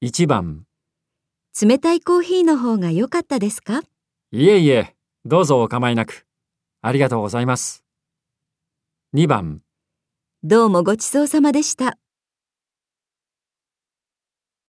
1番、 冷たいコーヒーの方が良かったですか？ いえいえ、どうぞお構いなく。ありがとうございます。2番、 どうもごちそうさまでした。